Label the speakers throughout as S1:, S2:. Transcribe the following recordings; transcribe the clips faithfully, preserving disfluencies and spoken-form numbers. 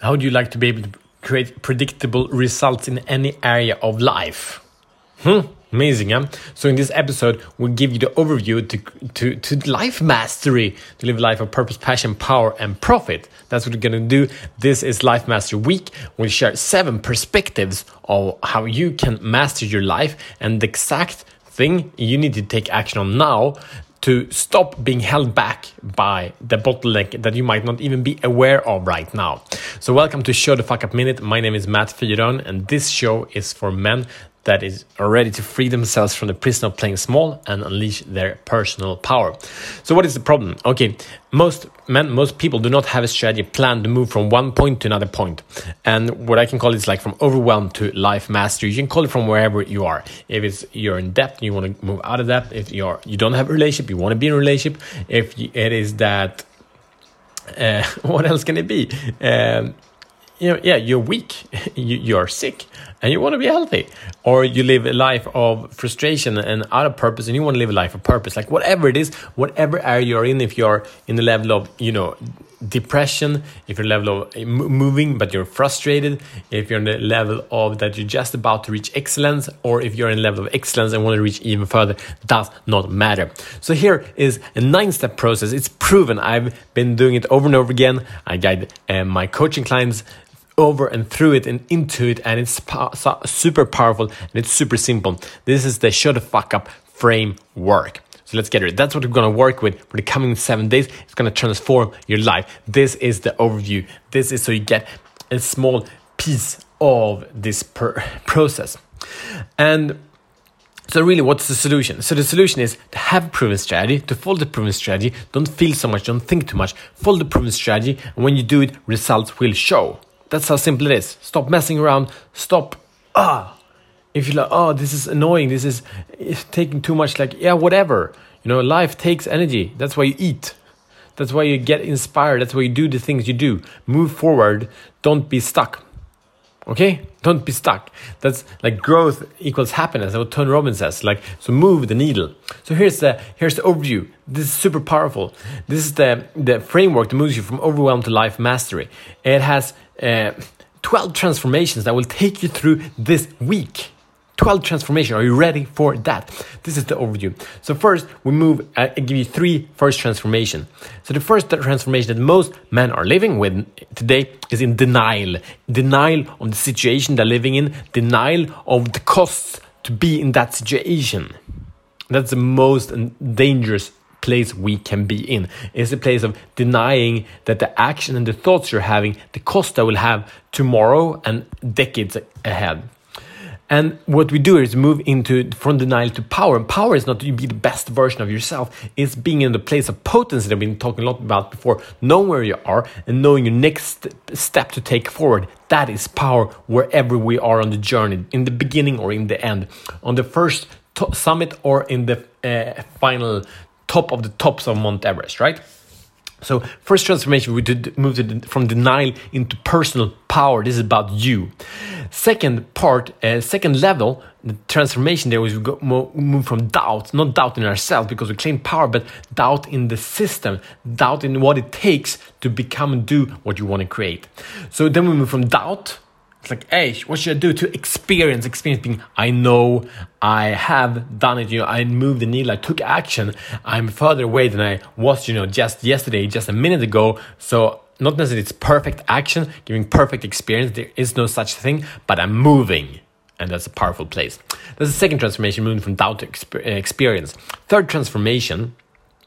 S1: How would you like to be able to create predictable results in any area of life? Hmm, amazing, huh? So in this episode, we'll give you the overview to, to, to life mastery, to live a life of purpose, passion, power, and profit. That's what we're going to do. This is Life Mastery Week. We'll share seven perspectives of how you can master your life and the exact thing you need to take action on now to stop being held back by the bottleneck that you might not even be aware of right now. So welcome to Show the Fuck Up Minute. My name is Matt Fyron, and this show is for men that is ready to free themselves from the prison of playing small and unleash their personal power. So what is the problem? Okay, most men, most people do not have a strategy plan to move from one point to another point. And what I can call it is like from overwhelm to life mastery. You can call it from wherever you are. If it's you're in debt, you want to move out of that. If you're you don't have a relationship, you want to be in a relationship. If it is that, uh, what else can it be? Um, You know, yeah, you're weak, you, you're sick, and you want to be healthy. Or you live a life of frustration and out of purpose, and you want to live a life of purpose. Like whatever it is, whatever area you're in, if you're in the level of, you know, depression, if you're level of moving but you're frustrated, if you're in the level of that you're just about to reach excellence, or if you're in the level of excellence and want to reach even further, does not matter. So here is a nine-step process. It's proven. I've been doing it over and over again. I guide uh, my coaching clients over and through it and into it, and it's po- so super powerful and it's super simple. This is the Show the Fuck Up framework. So let's get it. That's what we're going to work with for the coming seven days. It's going to transform your life. This is the overview. This is so you get a small piece of this per- process. And so really, what's the solution? So the solution is to have a proven strategy, to follow the proven strategy. Don't feel so much, don't think too much. Follow the proven strategy, and when you do it, results will show. That's how simple it is. Stop messing around. Stop. Ah, if you're like, oh, this is annoying. This is it's taking too much. Like, yeah, whatever. You know, life takes energy. That's why you eat. That's why you get inspired. That's why you do the things you do. Move forward. Don't be stuck. Okay? Don't be stuck. That's like growth equals happiness. That's what Tony Robbins says. Like, so move the needle. So here's the here's the overview. This is super powerful. This is the the framework that moves you from overwhelm to life mastery. It has uh, twelve transformations that will take you through this week. twelve transformations. Are you ready for that? This is the overview. So first, we move, uh, I give you three first transformation. So the first transformation that most men are living with today is in denial. Denial of the situation they're living in. Denial of the costs to be in that situation. That's the most dangerous place we can be in. It's a place of denying that the action and the thoughts you're having, the cost that will have tomorrow and decades ahead. And what we do is move into from denial to power. And power is not to be the best version of yourself. It's being in the place of potency that we've been talking a lot about before. Knowing where you are and knowing your next step to take forward. That is power wherever we are on the journey. In the beginning or in the end. On the first to- summit or in the uh, final top of the tops of Mount Everest, right? So first transformation, we did move to, from denial into personal power. This is about you. Second part, uh, second level, the transformation there was we go, move from doubt, not doubt in ourselves because we claim power, but doubt in the system, doubt in what it takes to become and do what you want to create. So then we move from doubt. It's like, hey, what should I do to experience? Experience being, I know, I have done it. You know, I moved the needle. I took action. I'm further away than I was, you know, just yesterday, just a minute ago. So not necessarily it's perfect action, giving perfect experience. There is no such thing, but I'm moving. And that's a powerful place. That's the second transformation, moving from doubt to exper- experience. Third transformation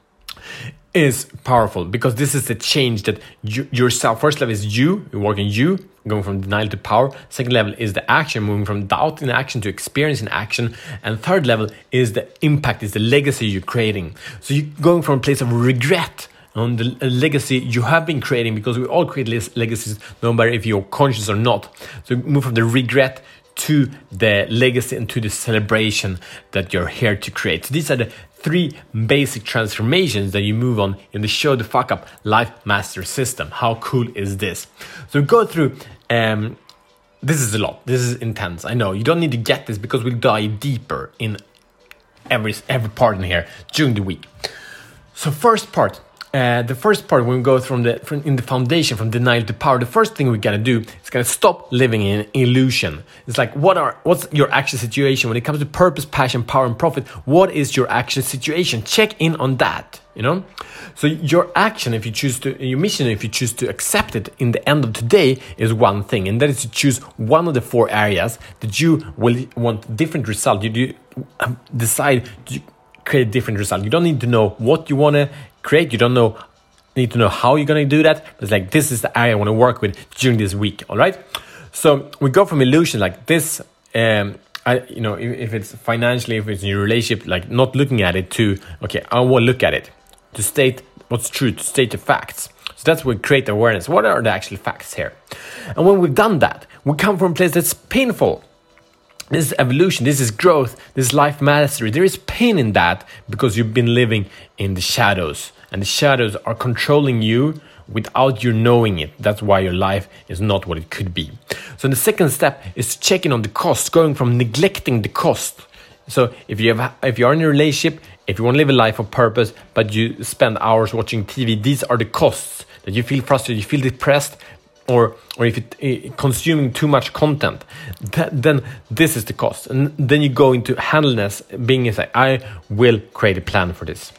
S1: is powerful because this is the change that you, yourself. First level is you, you work on you, going from denial to power. Second level is the action, moving from doubt in action to experience in action. And third level is the impact, is the legacy you're creating. So you're going from a place of regret on the legacy you have been creating, because we all create legacies, no matter if you're conscious or not. So move from the regret to the legacy and to the celebration that you're here to create. So these are the three basic transformations that you move on in the Show the Fuck Up Life Master System. How cool is this? So go through, um, this is a lot, this is intense. I know, you don't need to get this because we'll dive deeper in every, every part in here during the week. So first part, Uh, the first part, when we go from the from in the foundation, from denial to power, the first thing we gotta do is gotta stop living in illusion. It's like, what are what's your actual situation when it comes to purpose, passion, power, and profit? What is your actual situation? Check in on that. You know, so your action, if you choose to, your mission, if you choose to accept it in the end of today, is one thing, and that is to choose one of the four areas that you will want different result. You do decide to create a different result. You don't need to know what you want to create. You don't know need to know how you're going to do that. But it's like, this is the area I want to work with during this week. All right. So we go from illusion like this. Um, I, you know, if, if it's financially, if it's in your relationship, like not looking at it to, okay, I will look at it to state what's true, to state the facts. So that's where we create awareness. What are the actual facts here? And when we've done that, we come from a place that's painful. This is evolution, this is growth, this is life mastery. There is pain in that because you've been living in the shadows. And the shadows are controlling you without you knowing it. That's why your life is not what it could be. So the second step is checking on the cost, going from neglecting the cost. So if you have, if you are in a relationship, if you want to live a life of purpose, but you spend hours watching T V, these are the costs that you feel frustrated, you feel depressed, or or if it uh, consuming too much content, that, then this is the cost. And then you go into handleness, being like, I will create a plan for this.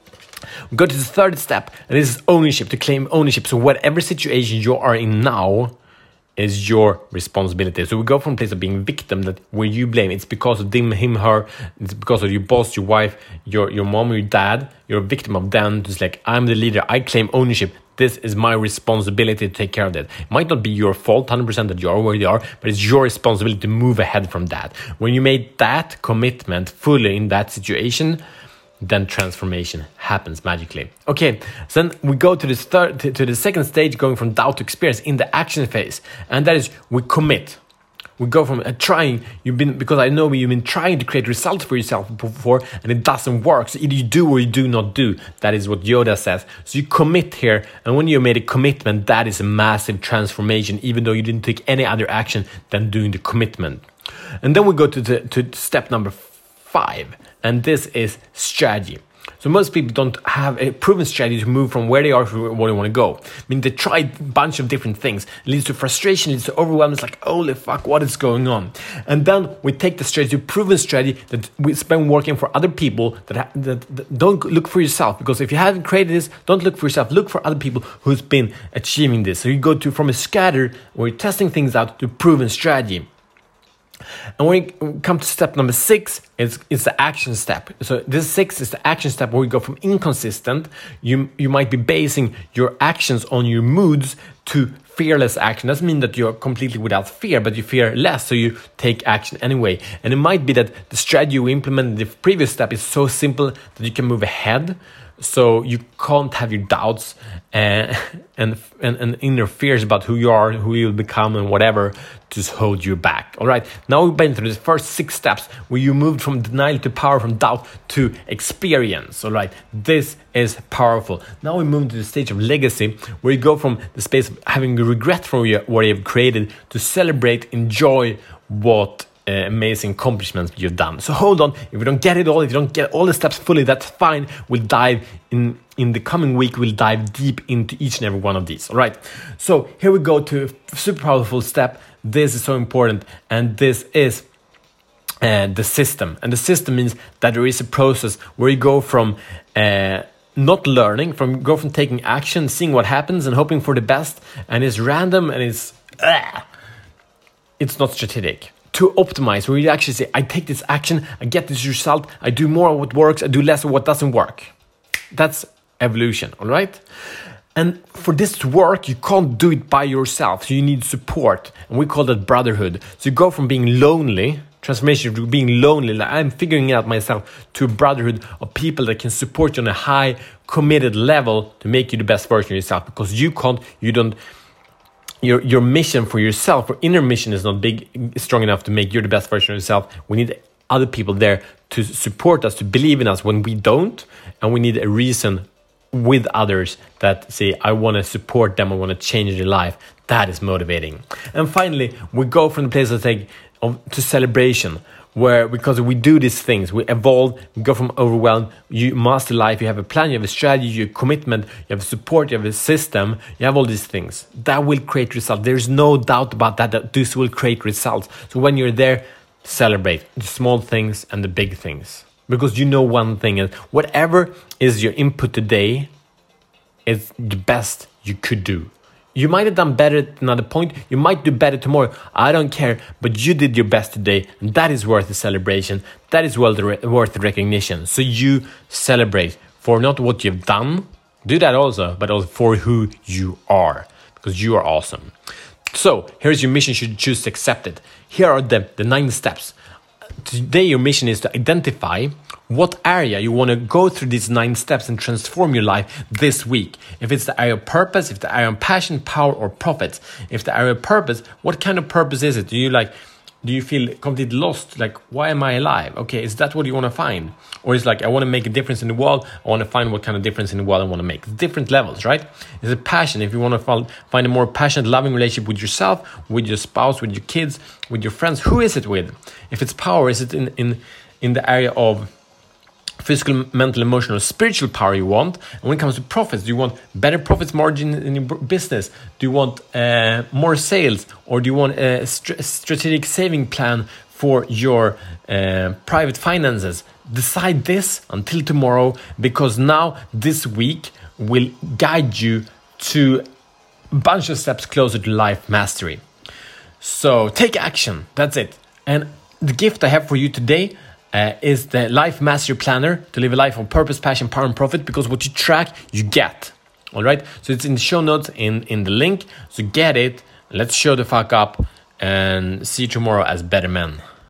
S1: We go to the third step, and this is ownership, to claim ownership. So whatever situation you are in now is your responsibility. So we go from a place of being victim, that where you blame, it's because of them, him, her, it's because of your boss, your wife, your your mom, your dad, you're a victim of them. Just like, I'm the leader, I claim ownership. This is my responsibility to take care of that. It might not be your fault one hundred percent that you are where you are, but it's your responsibility to move ahead from that. When you made that commitment fully in that situation, then transformation happens magically. Okay, so then we go to this third, to, to the second stage, going from doubt to experience in the action phase, and that is we commit. We go from uh, trying, you've been, because I know you've been trying to create results for yourself before and it doesn't work. So either you do or you do not do. That is what Yoda says. So you commit here. And when you made a commitment, that is a massive transformation, even though you didn't take any other action than doing the commitment. And then we go to, the, to step number five. And this is strategy. So most people don't have a proven strategy to move from where they are to where they want to go. I mean, they try a bunch of different things. It leads to frustration, it leads to overwhelm. It's like, holy fuck, what is going on? And then we take the strategy, proven strategy that we spend working for other people that, ha- that, that don't look for yourself. Because if you haven't created this, don't look for yourself. Look for other people who's been achieving this. So you go to from a scatter where you're testing things out to proven strategy. And when we come to step number six, it's, it's the action step. So this six is the action step where we go from inconsistent. You you might be basing your actions on your moods to fearless action. Doesn't mean that you're completely without fear, but you fear less, so you take action anyway. And it might be that the strategy you implemented in the previous step is so simple that you can move ahead. So you can't have your doubts and, and and and inner fears about who you are, who you'll become, and whatever just hold you back. All right. Now we've been through the first six steps where you moved from denial to power, from doubt to experience. All right. This is powerful. Now we move to the stage of legacy, where you go from the space of having regret for what you've created to celebrate, enjoy what Uh, amazing accomplishments you've done. So hold on, if you don't get it all, if you don't get all the steps fully, that's fine. We'll dive in in the coming week. We'll dive deep into each and every one of these. All right. So here we go to a super powerful step. This is so important, and this is uh, the system. And the system means that there is a process where you go from uh, not learning, from go from taking action, seeing what happens, and hoping for the best, and it's random and it's uh, it's not strategic. To optimize, where you actually say, I take this action, I get this result, I do more of what works, I do less of what doesn't work. That's evolution, all right? And for this to work, you can't do it by yourself, so you need support. And we call that brotherhood. So you go from being lonely, transformation to being lonely, like I'm figuring it out myself, to a brotherhood of people that can support you on a high, committed level to make you the best version of yourself. Because you can't, you don't, Your your mission for yourself, or inner mission, is not big, strong enough to make you the best version of yourself. We need other people there to support us, to believe in us when we don't. And we need a reason with others that say, I want to support them, I want to change their life. That is motivating. And finally, we go from the place of, like, of to celebration, where because we do these things, we evolve, we go from overwhelmed, you master life, you have a plan, you have a strategy, you have a commitment, you have a support, you have a system, you have all these things. That will create results. There's no doubt about that, that this will create results. So when you're there, celebrate the small things and the big things. Because you know one thing is, whatever is your input today is the best you could do. You might have done better at another point. You might do better tomorrow. I don't care. But you did your best today. And that is worth the celebration. That is worth the, re- worth the recognition. So you celebrate for not what you've done. Do that also. But also for who you are. Because you are awesome. So here's your mission should you choose to accept it. Here are the, the nine steps. Today your mission is to identify what area you want to go through these nine steps and transform your life this week. If it's the area of purpose, if the area of passion, power, or profit. If the area of purpose, what kind of purpose is it? Do you like, do you feel completely lost? Like, why am I alive? Okay, is that what you want to find? Or it's like, I want to make a difference in the world. I want to find what kind of difference in the world I want to make. Different levels, right? Is it passion? If you want to find a more passionate, loving relationship with yourself, with your spouse, with your kids, with your friends, who is it with? If it's power, is it in, in, in the area of physical, mental, emotional, spiritual power you want? And when it comes to profits, do you want better profits margin in your business? Do you want uh, more sales? Or do you want a st- strategic saving plan for your uh, private finances? Decide this until tomorrow, because now this week will guide you to a bunch of steps closer to life mastery. So take action. That's it. And the gift I have for you today Uh, is the Life Mastery Planner to live a life of purpose, passion, power, and profit. Because what you track, you get. All right. So it's in the show notes in, in the link. So get it. Let's show the fuck up and see you tomorrow as better men.